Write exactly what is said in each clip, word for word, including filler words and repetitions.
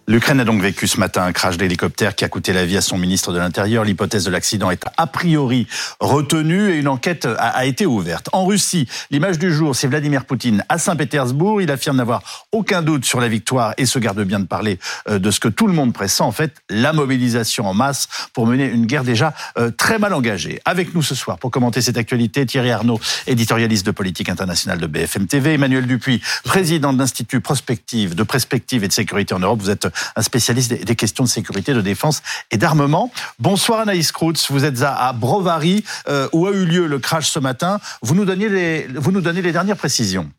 L'Ukraine a donc vécu ce matin un crash d'hélicoptère qui a coûté la vie à son ministre de l'Intérieur. L'hypothèse de l'accident est a priori retenue et une enquête a, a été ouverte. En Russie, l'image du jour, c'est Vladimir Poutine à Saint-Pétersbourg. Il affirme n'avoir aucun doute sur la victoire et se garde bien de parler de ce que tout le monde pressent. En fait, la mobilisation en masse pour mener une guerre déjà très mal engagée. Avec nous ce soir pour commenter cette actualité, Thierry Arnaud, éditorialiste de politique internationale de B F M T V, Emmanuel Dupuis, président de l'Institut Prospective, de Perspective et de Sécurité en Europe. Vous êtes un spécialiste des questions de sécurité, de défense et d'armement. Bonsoir Anaïs Kroutz, vous êtes à Brovary, euh, où a eu lieu le crash ce matin. Vous nous donnez les, vous nous donnez les dernières précisions.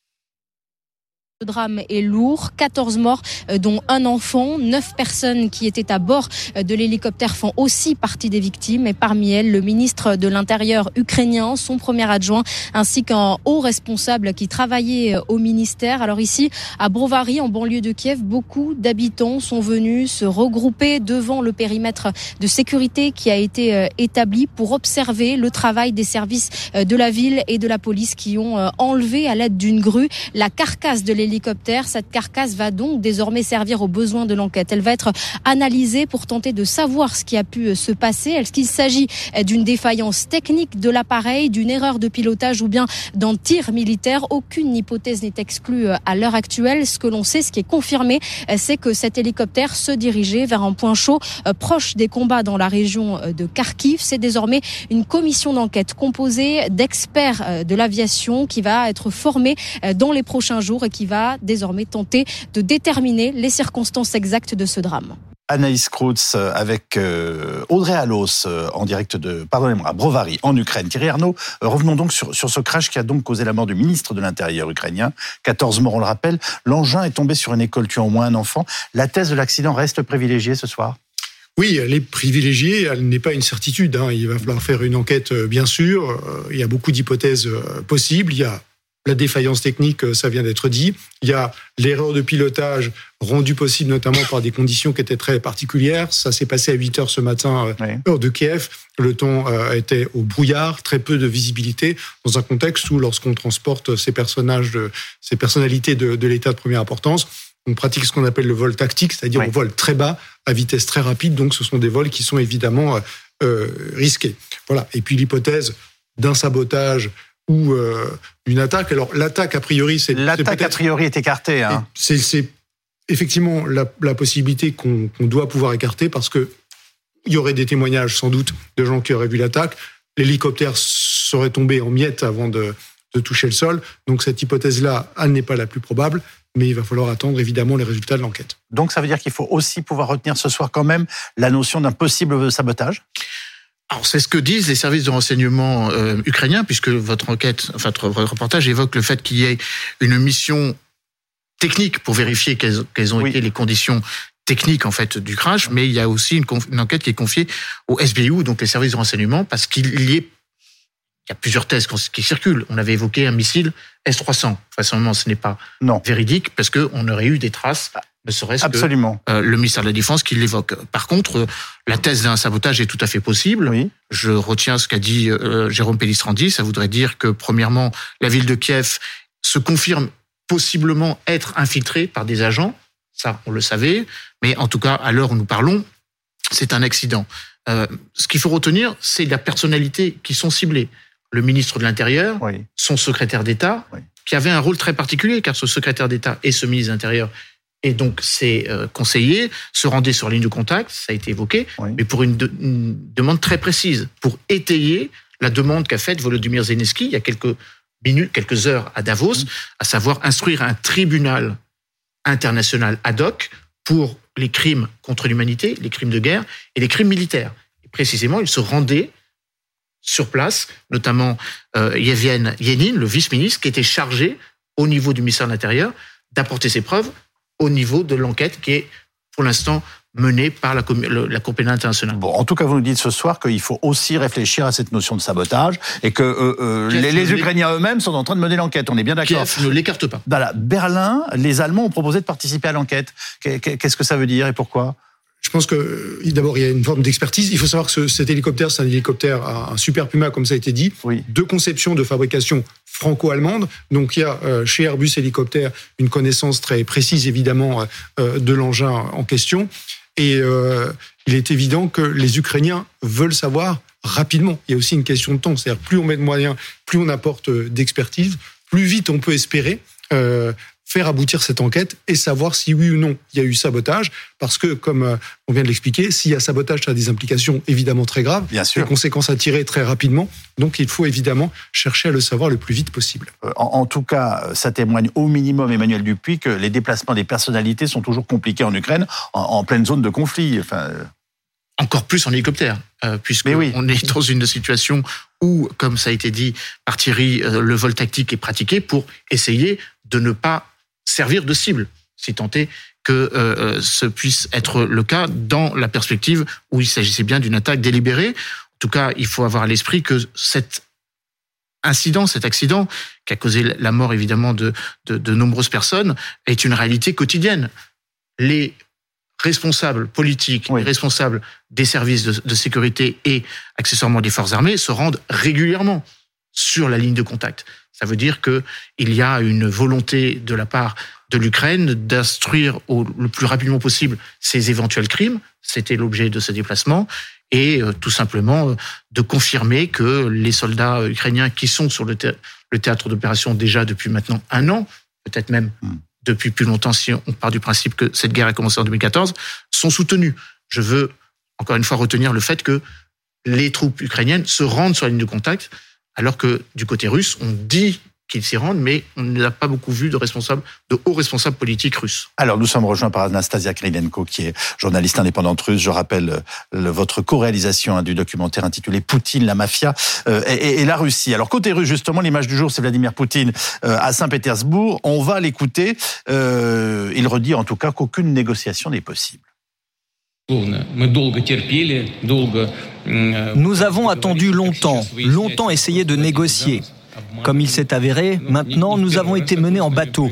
Le drame est lourd, quatorze morts, dont un enfant. neuf personnes qui étaient à bord de l'hélicoptère font aussi partie des victimes. Et parmi elles, le ministre de l'Intérieur ukrainien, son premier adjoint, ainsi qu'un haut responsable qui travaillait au ministère. Alors ici, à Brovary, en banlieue de Kiev, beaucoup d'habitants sont venus se regrouper devant le périmètre de sécurité qui a été établi pour observer le travail des services de la ville et de la police qui ont enlevé à l'aide d'une grue la carcasse de l'hélicoptère. L'hélicoptère. Cette carcasse va donc désormais servir aux besoins de l'enquête. Elle va être analysée pour tenter de savoir ce qui a pu se passer. Est-ce qu'il s'agit d'une défaillance technique de l'appareil, d'une erreur de pilotage ou bien d'un tir militaire? Aucune hypothèse n'est exclue à l'heure actuelle. Ce que l'on sait, ce qui est confirmé, c'est que cet hélicoptère se dirigeait vers un point chaud proche des combats dans la région de Kharkiv. C'est désormais une commission d'enquête composée d'experts de l'aviation qui va être formée dans les prochains jours et qui va désormais tenter de déterminer les circonstances exactes de ce drame. Anaïs Kroutz avec euh, Audrey Allos euh, en direct de, pardonnez-moi, à Brovary, en Ukraine. Thierry Arnaud, euh, revenons donc sur, sur ce crash qui a donc causé la mort du ministre de l'Intérieur ukrainien. quatorze morts, on le rappelle. L'engin est tombé sur une école tuant au moins un enfant. La thèse de l'accident reste privilégiée ce soir? Oui, elle est privilégiée, elle n'est pas une certitude. Hein. Il va falloir faire une enquête, bien sûr. Il y a beaucoup d'hypothèses possibles. Il y a la défaillance technique, ça vient d'être dit. Il y a l'erreur de pilotage rendue possible notamment par des conditions qui étaient très particulières. Ça s'est passé à huit heures ce matin, oui. Heure de Kiev. Le temps était au brouillard, très peu de visibilité, dans un contexte où, lorsqu'on transporte ces personnages, de, ces personnalités de, de l'État de première importance, on pratique ce qu'on appelle le vol tactique, c'est-à-dire oui. on vole très bas, à vitesse très rapide. Donc, ce sont des vols qui sont évidemment euh, risqués. Voilà. Et puis l'hypothèse d'un sabotage ou euh, une attaque. Alors l'attaque a priori, c'est l'attaque c'est a priori est écartée. Hein. C'est, c'est effectivement la, la possibilité qu'on, qu'on doit pouvoir écarter parce que il y aurait des témoignages sans doute de gens qui auraient vu l'attaque. L'hélicoptère serait tombé en miettes avant de, de toucher le sol. Donc cette hypothèse-là, elle n'est pas la plus probable. Mais il va falloir attendre évidemment les résultats de l'enquête. Donc ça veut dire qu'il faut aussi pouvoir retenir ce soir quand même la notion d'un possible sabotage? Alors, c'est ce que disent les services de renseignement euh, ukrainiens, puisque votre enquête, enfin, votre reportage évoque le fait qu'il y ait une mission technique pour vérifier quelles, quelles ont oui. été les conditions techniques, en fait, du crash, mais il y a aussi une, conf- une enquête qui est confiée au S B U, donc les services de renseignement, parce qu'il y est, il y a plusieurs thèses qui circulent. On avait évoqué un missile S trois cents. Facilement, ce n'est pas non. véridique, parce qu'on aurait eu des traces, ne serait-ce Absolument. que euh, le ministère de la Défense qui l'évoque. Par contre, euh, la thèse d'un sabotage est tout à fait possible. Oui. Je retiens ce qu'a dit euh, Jérôme Pellistrandi. Ça voudrait dire que, premièrement, la ville de Kiev se confirme possiblement être infiltrée par des agents. Ça, on le savait. Mais en tout cas, à l'heure où nous parlons, c'est un accident. Euh, ce qu'il faut retenir, c'est la personnalité qui sont ciblées. Le ministre de l'Intérieur, oui. son secrétaire d'État, oui. qui avait un rôle très particulier, car ce secrétaire d'État et ce ministre de l'Intérieur et donc ses euh, conseillers se rendaient sur ligne de contact, ça a été évoqué, oui. mais pour une, de, une demande très précise, pour étayer la demande qu'a faite Volodymyr Zelensky il y a quelques minutes, quelques heures à Davos, oui. à savoir instruire un tribunal international ad hoc pour les crimes contre l'humanité, les crimes de guerre et les crimes militaires. Et précisément, il se rendait sur place, notamment euh, Yevhen Yenin, le vice-ministre, qui était chargé au niveau du ministère de l'Intérieur d'apporter ses preuves au niveau de l'enquête qui est pour l'instant menée par la, la Cour pénale internationale. Bon, en tout cas, vous nous dites ce soir qu'il faut aussi réfléchir à cette notion de sabotage et que euh, euh, les, les Ukrainiens eux-mêmes sont en train de mener l'enquête. On est bien d'accord. Kiev ne l'écarte pas. Dans la Berlin, les Allemands ont proposé de participer à l'enquête. Qu'est-ce que ça veut dire et pourquoi ? Je pense que d'abord il y a une forme d'expertise. Il faut savoir que ce, cet hélicoptère, c'est un hélicoptère, un Super Puma, comme ça a été dit, oui. de conception, de fabrication franco-allemande. Donc il y a euh, chez Airbus Hélicoptère une connaissance très précise évidemment euh, de l'engin en question. Et euh, il est évident que les Ukrainiens veulent savoir rapidement. Il y a aussi une question de temps. C'est-à-dire plus on met de moyens, plus on apporte d'expertise, plus vite on peut espérer euh, faire aboutir cette enquête et savoir si oui ou non il y a eu sabotage. Parce que, comme on vient de l'expliquer, s'il y a sabotage, ça a des implications évidemment très graves, Bien sûr. des conséquences à tirer très rapidement. Donc il faut évidemment chercher à le savoir le plus vite possible. En, en tout cas, ça témoigne au minimum, Emmanuel Dupuis, que les déplacements des personnalités sont toujours compliqués en Ukraine, en, en pleine zone de conflit. Enfin... Encore plus en hélicoptère, euh, puisqu'on oui. est dans une situation où, comme ça a été dit par Thierry, euh, le vol tactique est pratiqué pour essayer de ne pas servir de cible, si tant est que euh, ce puisse être le cas dans la perspective où il s'agissait bien d'une attaque délibérée. En tout cas, il faut avoir à l'esprit que cet incident, cet accident, qui a causé la mort évidemment de, de, de nombreuses personnes, est une réalité quotidienne. Les responsables politiques, oui. les responsables des services de, de sécurité et accessoirement des forces armées se rendent régulièrement sur la ligne de contact. Ça veut dire qu'il y a une volonté de la part de l'Ukraine d'instruire au, le plus rapidement possible ces éventuels crimes. C'était l'objet de ce déplacement. Et euh, tout simplement euh, de confirmer que les soldats ukrainiens qui sont sur le, thé- le théâtre d'opération déjà depuis maintenant un an, peut-être même mm. depuis plus longtemps si on part du principe que cette guerre a commencé en deux mille quatorze, sont soutenus. Je veux encore une fois retenir le fait que les troupes ukrainiennes se rendent sur la ligne de contact, alors que du côté russe, on dit qu'ils s'y rendent, mais on n'a pas beaucoup vu de responsables, de hauts responsables politiques russes. Alors, nous sommes rejoints par Anastasia Krylenko, qui est journaliste indépendante russe. Je rappelle le, votre co-réalisation hein, du documentaire intitulé Poutine, la mafia euh, et, et la Russie. Alors, côté russe, justement, l'image du jour, c'est Vladimir Poutine euh, à Saint-Pétersbourg. On va l'écouter. Euh, il redit en tout cas qu'aucune négociation n'est possible. Nous avons attendu longtemps, longtemps essayé de négocier. Comme il s'est avéré, maintenant nous avons été menés en bateau.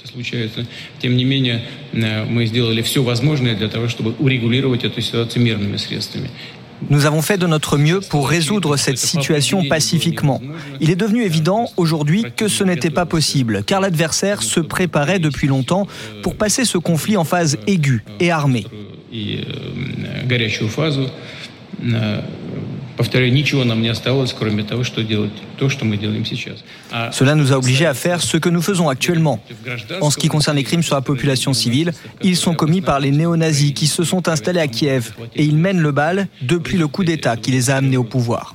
Nous avons fait de notre mieux pour résoudre cette situation pacifiquement. Il est devenu évident aujourd'hui que ce n'était pas possible, car l'adversaire se préparait depuis longtemps pour passer ce conflit en phase aiguë et armée. Cela nous a obligés à faire ce que nous faisons actuellement. En ce qui concerne les crimes sur la population civile, ils sont commis par les néo-nazis qui se sont installés à Kiev et ils mènent le bal depuis le coup d'État qui les a amenés au pouvoir.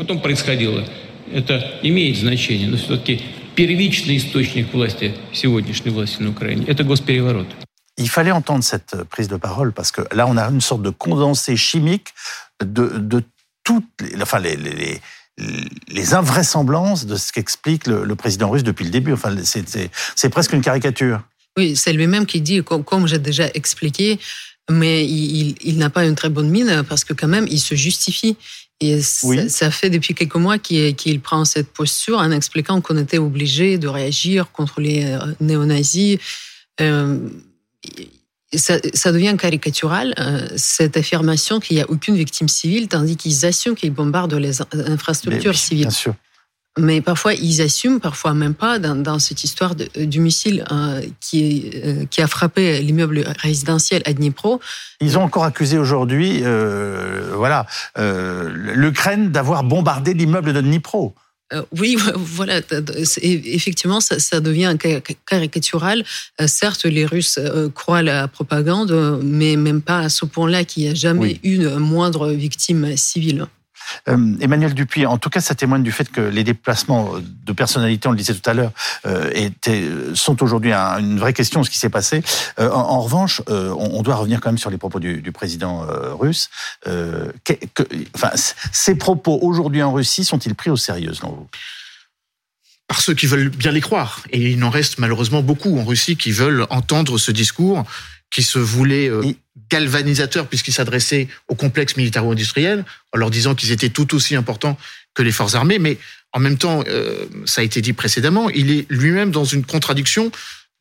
Il fallait entendre cette prise de parole parce que là, on a une sorte de condensé chimique de, de toutes les, enfin les, les, les invraisemblances de ce qu'explique le, le président russe depuis le début. Enfin, c'est, c'est, c'est presque une caricature. Oui, c'est lui-même qui dit, comme, comme j'ai déjà expliqué, mais il, il, il n'a pas une très bonne mine parce que quand même, il se justifie. Et oui. ça, ça fait depuis quelques mois qu'il, qu'il prend cette posture en expliquant qu'on était obligé de réagir contre les néo-nazis. Euh, Ça, ça devient caricatural, euh, cette affirmation qu'il n'y a aucune victime civile, tandis qu'ils assument qu'ils bombardent les infrastructures oui, civiles. Bien sûr. Mais parfois, ils assument, parfois même pas, dans, dans cette histoire de, du missile euh, qui, euh, qui a frappé l'immeuble résidentiel à Dnipro. Ils ont encore accusé aujourd'hui euh, voilà, euh, l'Ukraine d'avoir bombardé l'immeuble de Dnipro. Euh, oui, voilà, effectivement, ça, ça devient caricatural. Euh, certes, les Russes euh, croient à la propagande, mais même pas à ce point-là qu'il n'y a jamais oui. eu une moindre victime civile. Euh, Emmanuel Dupuis, en tout cas, ça témoigne du fait que les déplacements de personnalités, on le disait tout à l'heure, euh, étaient, sont aujourd'hui un, une vraie question de ce qui s'est passé. Euh, en, en revanche, euh, on, on doit revenir quand même sur les propos du, du président euh, russe. Euh, que, que, enfin, ces propos aujourd'hui en Russie sont-ils pris au sérieux, selon vous ? Par ceux qui veulent bien les croire. Et il en reste malheureusement beaucoup en Russie qui veulent entendre ce discours qui se voulait euh, galvanisateur puisqu'il s'adressait au complexe militaro-industriel en leur disant qu'ils étaient tout aussi importants que les forces armées. Mais en même temps, euh, ça a été dit précédemment, il est lui-même dans une contradiction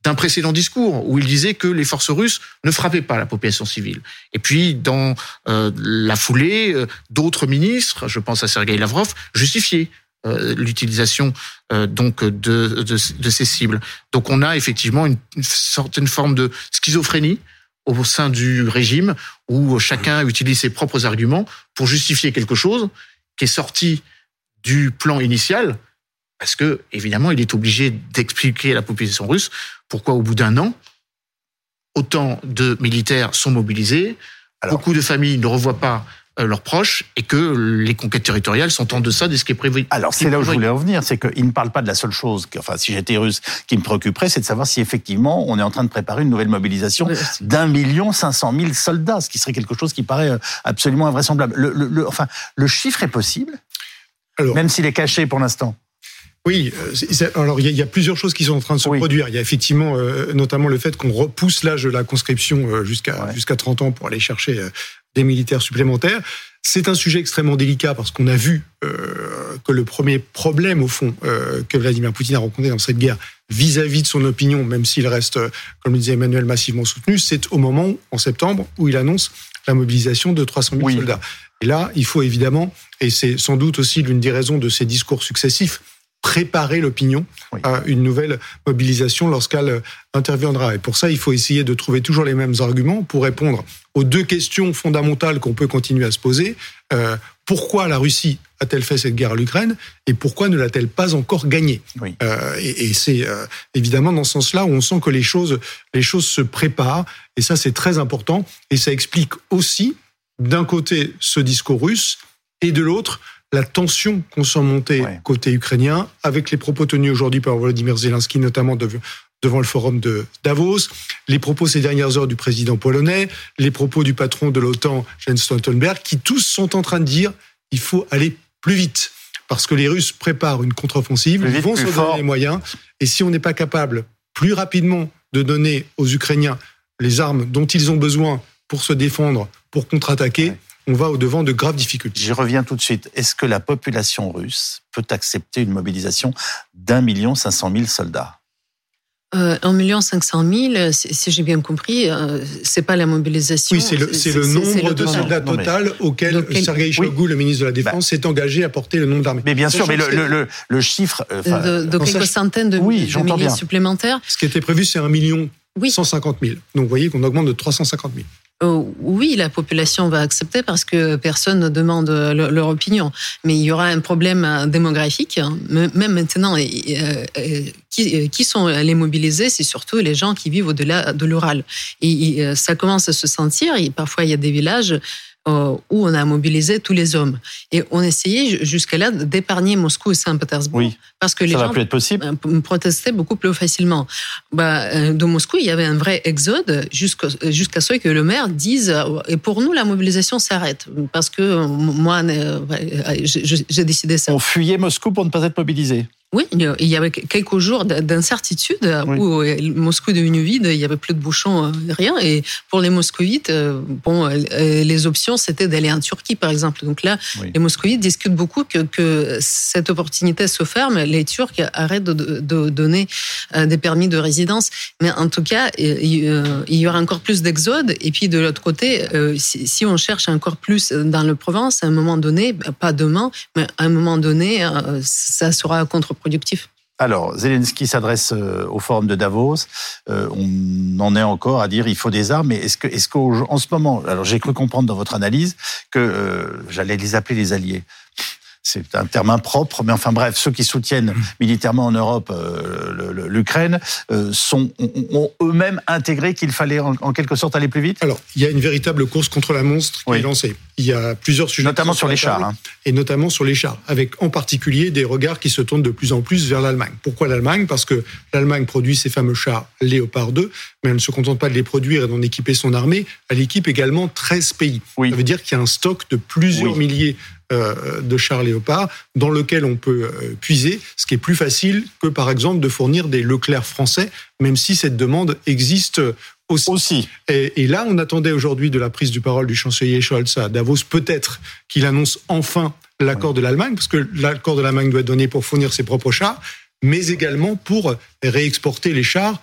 d'un précédent discours où il disait que les forces russes ne frappaient pas la population civile. Et puis, dans euh, la foulée, euh, d'autres ministres, je pense à Sergueï Lavrov, justifiaient euh, l'utilisation euh, donc de, de, de ces cibles. Donc, on a effectivement une, une certaine forme de schizophrénie au sein du régime où chacun utilise ses propres arguments pour justifier quelque chose qui est sorti du plan initial. Parce que, évidemment, il est obligé d'expliquer à la population russe pourquoi, au bout d'un an, autant de militaires sont mobilisés, alors, beaucoup de familles ne revoient pas euh, leurs proches et que les conquêtes territoriales sont en deçà de ce qui est prévu. Alors, c'est là où je voulais en venir, c'est qu'il ne parle pas de la seule chose, que, enfin, si j'étais russe, qui me préoccuperait, c'est de savoir si, effectivement, on est en train de préparer une nouvelle mobilisation oui. d'un million cinq cent mille soldats, ce qui serait quelque chose qui paraît absolument invraisemblable. Le, le, le, enfin, le chiffre est possible, alors, même s'il est caché pour l'instant. Oui, c'est, alors il y, y a plusieurs choses qui sont en train de se oui. produire. Il y a effectivement euh, notamment le fait qu'on repousse l'âge de la conscription euh, jusqu'à ouais. jusqu'à trente ans pour aller chercher euh, des militaires supplémentaires. C'est un sujet extrêmement délicat parce qu'on a vu euh, que le premier problème au fond euh, que Vladimir Poutine a rencontré dans cette guerre vis-à-vis de son opinion, même s'il reste, euh, comme le disait Emmanuel, massivement soutenu, c'est au moment, en septembre, où il annonce la mobilisation de trois cent mille oui. soldats. Et là, il faut évidemment, et c'est sans doute aussi l'une des raisons de ces discours successifs, préparer l'opinion oui. à une nouvelle mobilisation lorsqu'elle interviendra. Et pour ça, il faut essayer de trouver toujours les mêmes arguments pour répondre aux deux questions fondamentales qu'on peut continuer à se poser. Euh, pourquoi la Russie a-t-elle fait cette guerre à l'Ukraine et pourquoi ne l'a-t-elle pas encore gagnée oui. euh, et, et c'est euh, évidemment dans ce sens-là où on sent que les choses, les choses se préparent. Et ça, c'est très important. Et ça explique aussi, d'un côté, ce discours russe et de l'autre, la tension qu'on sent monter ouais. côté ukrainien, avec les propos tenus aujourd'hui par Volodymyr Zelensky, notamment de, devant le forum de Davos, les propos ces dernières heures du président polonais, les propos du patron de l'OTAN, Jens Stoltenberg, qui tous sont en train de dire il faut aller plus vite, parce que les Russes préparent une contre-offensive, ils vont se donner les moyens, et si on n'est pas capable plus rapidement de donner aux Ukrainiens les armes dont ils ont besoin pour se défendre, pour contre-attaquer, ouais. on va au-devant de graves difficultés. J'y reviens tout de suite. Est-ce que la population russe peut accepter une mobilisation d'un million cinq cent mille soldats ? Euh, un million cinq cent mille, si, si j'ai bien compris, euh, c'est pas la mobilisation. Oui, c'est le, c'est c'est, le nombre c'est le de soldats non, total mais, auquel lequel, Sergueï Shoigu, oui. le ministre de la Défense, bah, s'est engagé à porter le nombre d'armées. Mais bien sûr, mais le, le, le, le chiffre... Euh, de, de quelques centaines de, oui, de milliers bien. supplémentaires. Ce qui était prévu, c'est un million cent cinquante mille. Donc vous voyez qu'on augmente de trois cent cinquante mille. Euh, oui, la population va accepter parce que personne ne demande le, leur opinion. Mais il y aura un problème démographique. Même maintenant, euh, euh, qui, qui sont les mobilisés, c'est surtout les gens qui vivent au-delà de l'Ural. Et, et ça commence à se sentir. Et parfois, il y a des villages où on a mobilisé tous les hommes. Et on essayait jusqu'à là d'épargner Moscou et Saint-Pétersbourg. Oui, parce que les ça gens va plus être possible. protestaient beaucoup plus facilement. Bah, de Moscou, il y avait un vrai exode jusqu'à, jusqu'à ce que le maire dise « Et pour nous, la mobilisation s'arrête. » Parce que moi, j'ai décidé ça. On fuyait Moscou pour ne pas être mobilisé. Oui, il y avait quelques jours d'incertitude oui. où Moscou est devenu vide, il n'y avait plus de bouchons, rien. Et pour les moscovites, bon, les options, c'était d'aller en Turquie, par exemple. Donc là, oui. les moscovites discutent beaucoup que, que cette opportunité se ferme, les Turcs arrêtent de, de donner des permis de résidence. Mais en tout cas, il y aura encore plus d'exode. Et puis de l'autre côté, si on cherche encore plus dans le Provence, à un moment donné, pas demain, mais à un moment donné, ça sera contre productif. Alors, Zelensky s'adresse au forum de Davos. Euh, on en est encore à dire il faut des armes. Mais est-ce que, est-ce qu'en ce moment, alors j'ai cru comprendre dans votre analyse que euh, j'allais les appeler les alliés. C'est un terme impropre, mais enfin bref, ceux qui soutiennent militairement en Europe euh, le, le, l'Ukraine euh, sont, ont, ont eux-mêmes intégré qu'il fallait en, en quelque sorte aller plus vite. Alors, il y a une véritable course contre la monstre qui oui. est lancée. Il y a plusieurs sujets. Notamment sur les chars. Hein. Et notamment sur les chars, avec en particulier des regards qui se tournent de plus en plus vers l'Allemagne. Pourquoi l'Allemagne ? Parce que l'Allemagne produit ces fameux chars Léopard deux, mais elle ne se contente pas de les produire et d'en équiper son armée, elle équipe également treize pays. Oui. Ça veut dire qu'il y a un stock de plusieurs oui. milliers de chars Léopard dans lequel on peut puiser, ce qui est plus facile que par exemple de fournir des Leclerc français, même si cette demande existe aussi. aussi. Et, et là, on attendait aujourd'hui de la prise de parole du chancelier Scholz à Davos, peut-être qu'il annonce enfin l'accord oui. de l'Allemagne, parce que l'accord de l'Allemagne doit être donné pour fournir ses propres chars, mais également pour réexporter les chars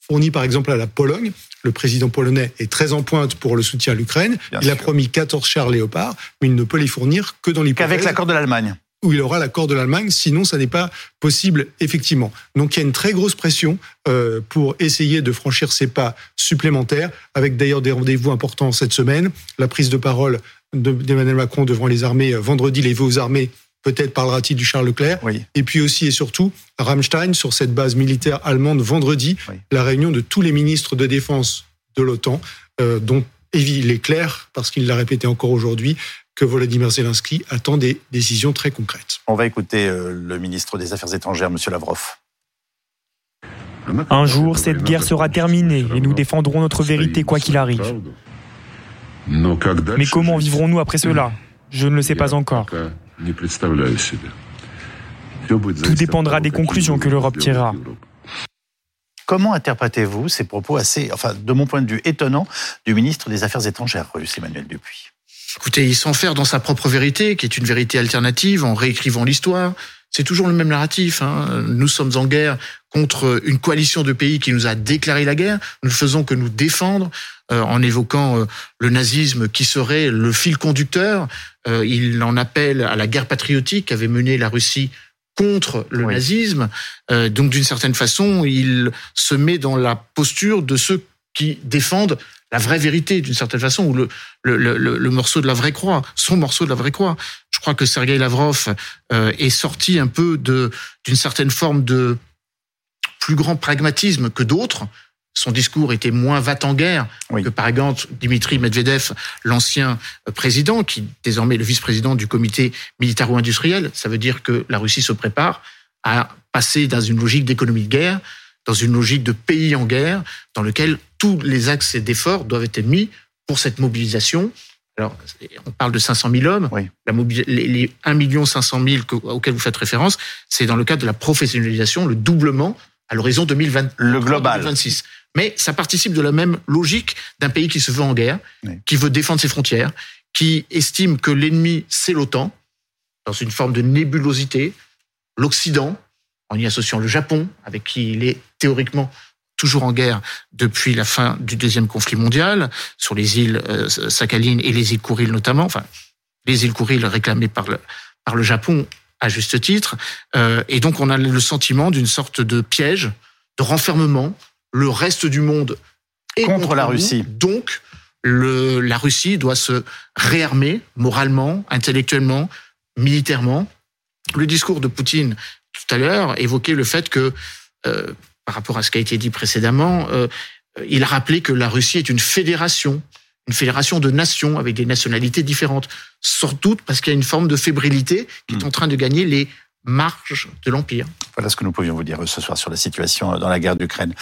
fourni par exemple à la Pologne. Le président polonais est très en pointe pour le soutien à l'Ukraine. Bien il sûr. a promis quatorze chars Léopard, mais il ne peut les fournir que dans l'hypothèse... Qu'avec l'accord de l'Allemagne. Où il aura l'accord de l'Allemagne, sinon ça n'est pas possible, effectivement. Donc il y a une très grosse pression euh, pour essayer de franchir ces pas supplémentaires, avec d'ailleurs des rendez-vous importants cette semaine. La prise de parole de, d'Emmanuel Macron devant les armées vendredi, les vœux aux armées, peut-être parlera-t-il du Charles Leclerc. Oui. Et puis aussi et surtout, Ramstein, sur cette base militaire allemande, vendredi, oui. la réunion de tous les ministres de défense de l'OTAN, euh, dont il est clair, parce qu'il l'a répété encore aujourd'hui, que Volodymyr Zelensky attend des décisions très concrètes. On va écouter euh, le ministre des Affaires étrangères, M. Lavrov. Un jour, cette guerre sera terminée et nous défendrons notre vérité quoi qu'il arrive. Mais comment vivrons-nous après cela ? Je ne le sais pas encore. Tout dépendra des conclusions que l'Europe tirera. Comment interprétez-vous ces propos assez, enfin, de mon point de vue, étonnants du ministre des Affaires étrangères russe, Emmanuel Dupuis ? Écoutez, il s'enferme dans sa propre vérité, qui est une vérité alternative, en réécrivant l'histoire. C'est toujours le même narratif. Hein. Nous sommes en guerre contre une coalition de pays qui nous a déclaré la guerre. Nous ne faisons que nous défendre euh, en évoquant euh, le nazisme qui serait le fil conducteur. Euh, il en appelle à la guerre patriotique qu'avait menée la Russie contre le oui. nazisme. Euh, donc, d'une certaine façon, il se met dans la posture de ceux qui défendent la vraie vérité, d'une certaine façon, ou le, le, le, le morceau de la vraie croix, son morceau de la vraie croix. Je crois que Sergueï Lavrov euh, est sorti un peu de, d'une certaine forme de plus grand pragmatisme que d'autres. Son discours était moins va-t-en-guerre oui. que, par exemple, Dimitri Medvedev, l'ancien président, qui désormais est le vice-président du comité militaro-industriel. Ça veut dire que la Russie se prépare à passer dans une logique d'économie de guerre, dans une logique de pays en guerre, dans lequel tous les axes d'efforts doivent être mis pour cette mobilisation. Alors, on parle de cinq cent mille hommes. Oui. La mobilis- les, les un million cinq cent mille auxquels vous faites référence, c'est dans le cadre de la professionnalisation, le doublement à l'horizon deux mille vingt, le global. deux mille vingt-six. Mais ça participe de la même logique d'un pays qui se veut en guerre, oui. qui veut défendre ses frontières, qui estime que l'ennemi, c'est l'OTAN, dans une forme de nébulosité, l'Occident, en y associant le Japon, avec qui il est théoriquement toujours en guerre depuis la fin du deuxième conflit mondial, sur les îles euh, Sakhalin et les îles Kouriles notamment, enfin, les îles Kouriles réclamées par le, par le Japon à juste titre. Euh, et donc, on a le sentiment d'une sorte de piège, de renfermement. Le reste du monde est contre, contre la nous. Russie. Donc, le, la Russie doit se réarmer moralement, intellectuellement, militairement. Le discours de Poutine tout à l'heure évoquait le fait que, euh, par rapport à ce qui a été dit précédemment, euh, il a rappelé que la Russie est une fédération, une fédération de nations avec des nationalités différentes, sans doute parce qu'il y a une forme de fébrilité qui mmh. est en train de gagner les marges de l'Empire. Voilà ce que nous pouvions vous dire ce soir sur la situation dans la guerre d'Ukraine.